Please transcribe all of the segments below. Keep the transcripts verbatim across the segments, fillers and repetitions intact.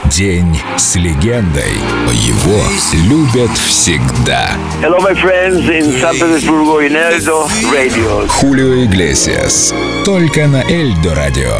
День с легендой. Его любят всегда. Hello, my friends in San Petersburgo in Eldo Radio. Хулио Иглесиас. Только на Эльдо Радио.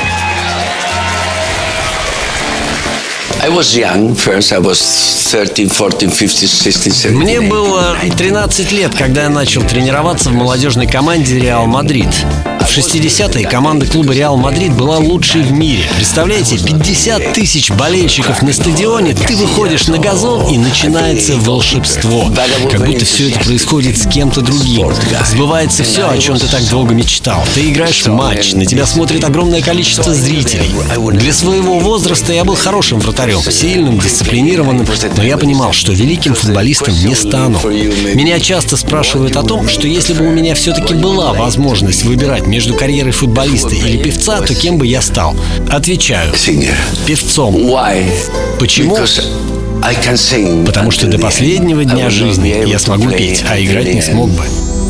I was young first. I was thirteen, fourteen, fifteen, sixteen, seventeen. Мне было тринадцать лет, когда я начал тренироваться в молодежной команде «Реал Мадрид». В шестидесятые команда клуба «Реал Мадрид» была лучшей в мире. Представляете, пятьдесят тысяч болельщиков на стадионе, ты выходишь на газон и начинается волшебство. Как будто все это происходит с кем-то другим. Сбывается все, о чем ты так долго мечтал. Ты играешь в матч, на тебя смотрит огромное количество зрителей. Для своего возраста я был хорошим вратарем, сильным, дисциплинированным, но я понимал, что великим футболистом не стану. Меня часто спрашивают о том, что если бы у меня все-таки была возможность выбирать между карьерой футболиста или певца, то кем бы я стал? Отвечаю: певцом. Почему? Потому что до последнего дня жизни я смогу петь, а играть не смог бы.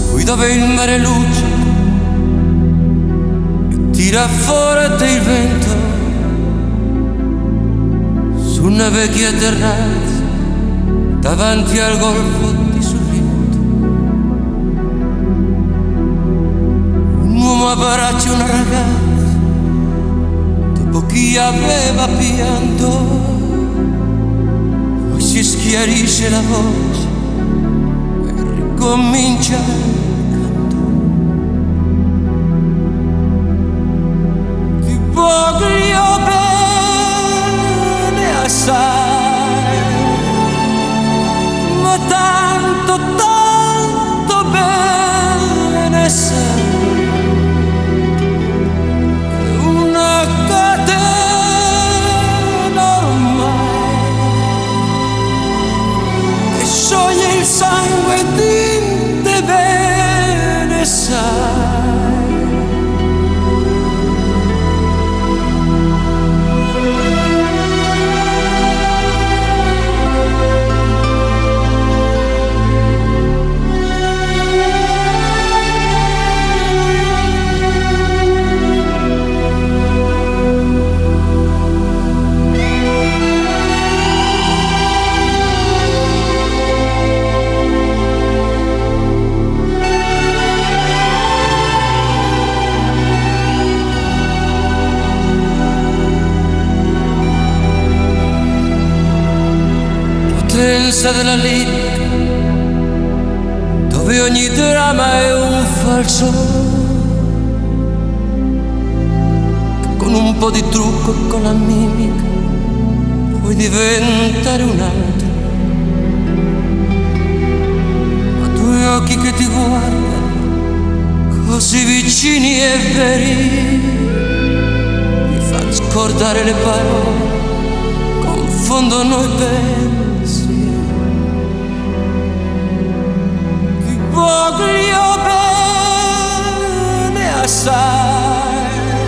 Una vecchia terrazza davanti al golfo di Sorrento, un uomo abbraccia una ragazza dopo chi aveva pianto, poi si schiarisce la voce e ricomincia il canto. Ti voglio bene assai, ma tanto, tanto bene sai, che una catena ormai che scioglie il sangue e te bene sai. Potenza della lirica, dove ogni dramma è un falso, che con un po' di trucco e con la mimica puoi diventare un altro. Ma due occhi che ti guardano così vicini e veri mi fanno scordare le parole, confondono i pensieri. Ti voglio bene assai,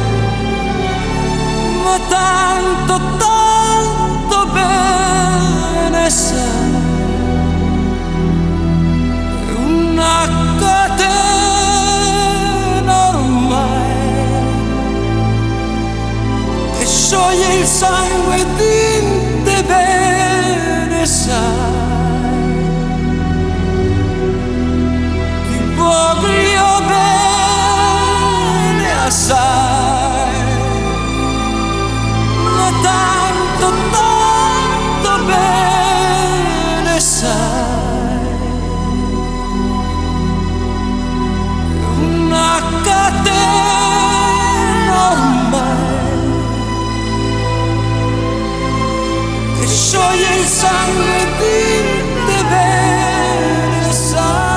ma tanto, tanto bene sai, è una catena ormai che scioglie il sangue di te bene sai. Voglio bene assai, ma tanto, tanto bene sai, una catena ormai che scioglie il sangue di te bene sai.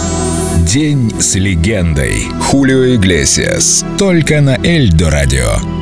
День с легендой. Хулио Иглесиас. Только на Эльдо Радио.